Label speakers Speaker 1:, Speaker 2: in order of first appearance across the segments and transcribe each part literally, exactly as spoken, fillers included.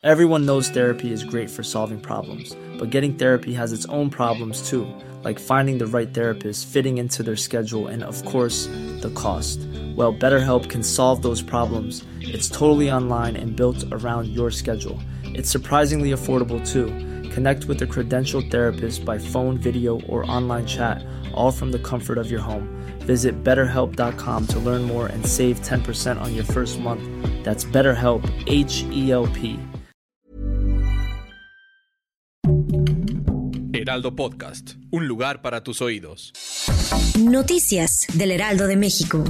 Speaker 1: Everyone knows therapy is great for solving problems, but getting therapy has its own problems too, like finding the right therapist, fitting into their schedule, and of course, the cost. Well, BetterHelp can solve those problems. It's totally online and built around your schedule. It's surprisingly affordable too. Connect with a credentialed therapist by phone, video, or online chat, all from the comfort of your home. Visit better help dot com to learn more and save ten percent on your first month. That's BetterHelp, H E L P.
Speaker 2: Heraldo Podcast, un lugar para tus oídos.
Speaker 3: Noticias del Heraldo de México.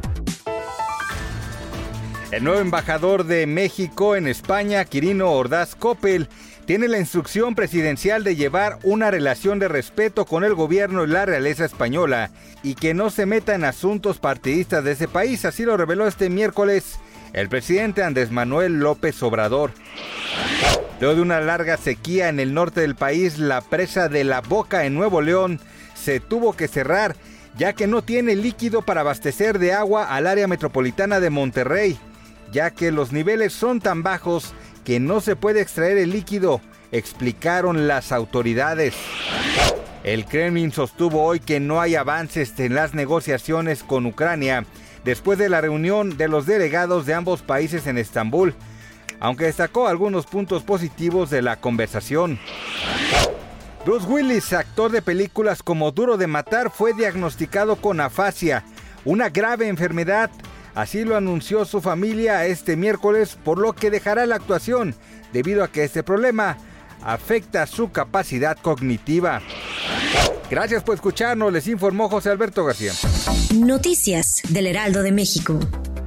Speaker 4: El nuevo embajador de México en España, Quirino Ordaz Coppel, tiene la instrucción presidencial de llevar una relación de respeto con el gobierno y la realeza española y que no se meta en asuntos partidistas de ese país. Así lo reveló este miércoles el presidente Andrés Manuel López Obrador. Luego de una larga sequía en el norte del país, la presa de La Boca en Nuevo León se tuvo que cerrar, ya que no tiene líquido para abastecer de agua al área metropolitana de Monterrey, ya que los niveles son tan bajos que no se puede extraer el líquido, explicaron las autoridades. El Kremlin sostuvo hoy que no hay avances en las negociaciones con Ucrania después de la reunión de los delegados de ambos países en Estambul, aunque destacó algunos puntos positivos de la conversación. Bruce Willis, actor de películas como Duro de Matar, fue diagnosticado con afasia, una grave enfermedad. Así lo anunció su familia este miércoles, por lo que dejará la actuación, debido a que este problema afecta su capacidad cognitiva. Gracias por escucharnos, les informó José Alberto García.
Speaker 3: Noticias del Heraldo de México.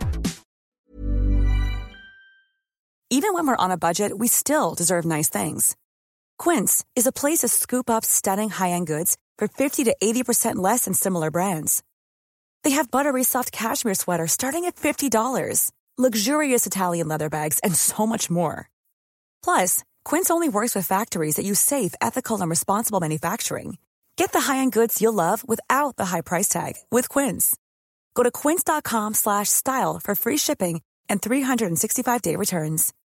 Speaker 5: Even when we're on a budget, we still deserve nice things. Quince is a place to scoop up stunning high-end goods for fifty to eighty percent less than similar brands. They have buttery soft cashmere sweaters starting at fifty dollars, luxurious Italian leather bags, and so much more. Plus, Quince only works with factories that use safe, ethical, and responsible manufacturing. Get the high-end goods you'll love without the high price tag with Quince. Go to quince dot com slash style for free shipping and three sixty-five day returns.